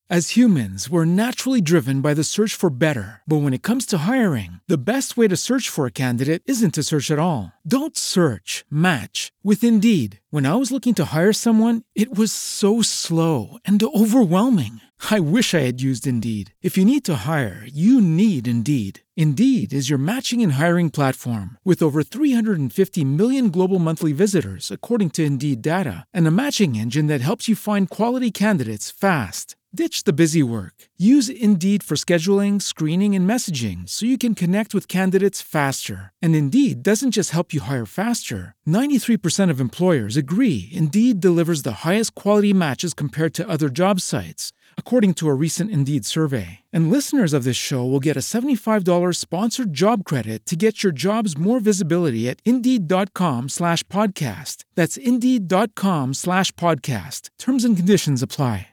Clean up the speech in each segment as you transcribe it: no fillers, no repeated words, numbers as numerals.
As humans, we're naturally driven by the search for better. But when it comes to hiring, the best way to search for a candidate isn't to search at all. Don't search, match with Indeed. When I was looking to hire someone, it was so slow and overwhelming. I wish I had used Indeed. If you need to hire, you need Indeed. Indeed is your matching and hiring platform with over 350 million global monthly visitors, according to Indeed data, and a matching engine that helps you find quality candidates fast. Ditch the busy work. Use Indeed for scheduling, screening, and messaging so you can connect with candidates faster. And Indeed doesn't just help you hire faster. 93% of employers agree Indeed delivers the highest quality matches compared to other job sites, according to a recent Indeed survey. And listeners of this show will get a $75 sponsored job credit to get your jobs more visibility at Indeed.com/podcast. That's Indeed.com/podcast. Terms and conditions apply.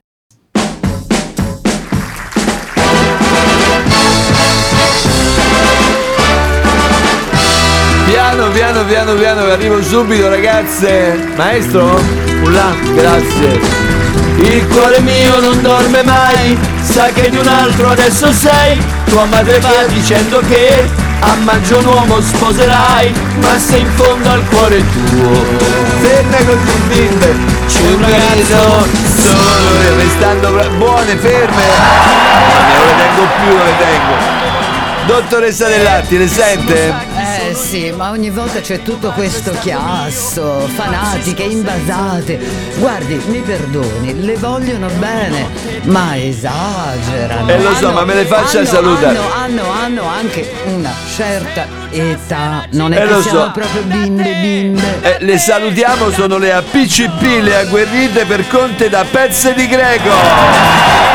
Piano, arrivo subito, ragazze. Maestro? Là, grazie. Il cuore mio non dorme mai, sa che di un altro adesso sei. Tua madre va dicendo che a maggio un uomo sposerai, ma se in fondo al cuore tuo ferma così bimbe, c'è un ragazzo solo restando buone, ferme. Non le tengo. Dottoressa Dell'Atti, le sente? Sì, ma ogni volta c'è tutto questo chiasso, fanatiche, invasate. Guardi, mi perdoni, le vogliono bene, ma esagerano. Lo so, ma me le faccia salutare. Hanno anche una certa età. Non è che siamo proprio bimbe. Le salutiamo, sono le APCP, le agguerrite per conte da pezze di greco.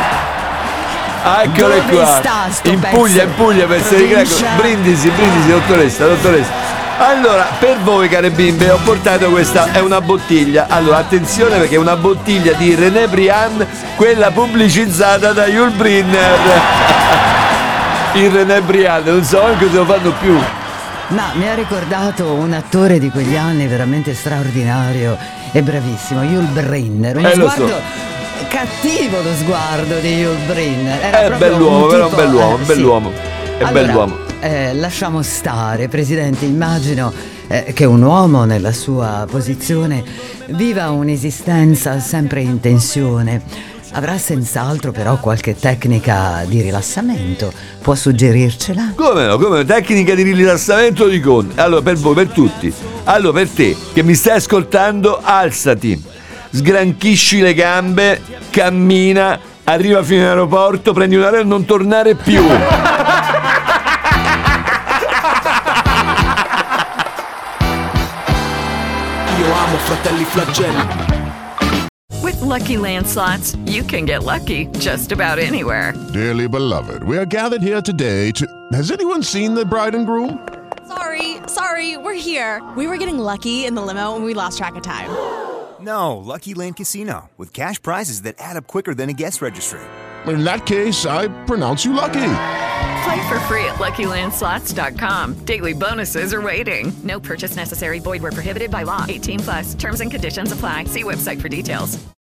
Eccole qua, in Puglia pezze di greco. Brindisi, dottoressa. Allora, per voi care bimbe ho portato questa, è una bottiglia. Allora, attenzione perché è una bottiglia di René Briand, quella pubblicizzata da Yul Brynner. Il René Briand, non so anche se lo fanno più. Ma mi ha ricordato un attore di quegli anni veramente straordinario e bravissimo, Yul Brynner. Uno sguardo cattivo, lo sguardo di Yul Brynner. Era bell'uomo, un però un bell'uomo. È allora, bell'uomo. Lasciamo stare, Presidente. Immagino che un uomo nella sua posizione viva un'esistenza sempre in tensione. Avrà senz'altro però qualche tecnica di rilassamento. Può suggerircela? Come no? Tecnica di rilassamento di conte. Allora, per voi, per tutti. Allora, per te che mi stai ascoltando, alzati, sgranchisci le gambe, cammina, arriva fino in aeroporto, prendi un aereo e non tornare più. Io amo Fratelli Flagelli. With Lucky Land Slots, you can get lucky just about anywhere. Dearly beloved, we are gathered here today to... Has anyone seen the bride and groom? Sorry, we're here. We were getting lucky in the limo and we lost track of time. No, Lucky Land Casino, with cash prizes that add up quicker than a guest registry. In that case, I pronounce you lucky. Play for free at LuckyLandSlots.com. Daily bonuses are waiting. No purchase necessary. Void where prohibited by law. 18+. Terms and conditions apply. See website for details.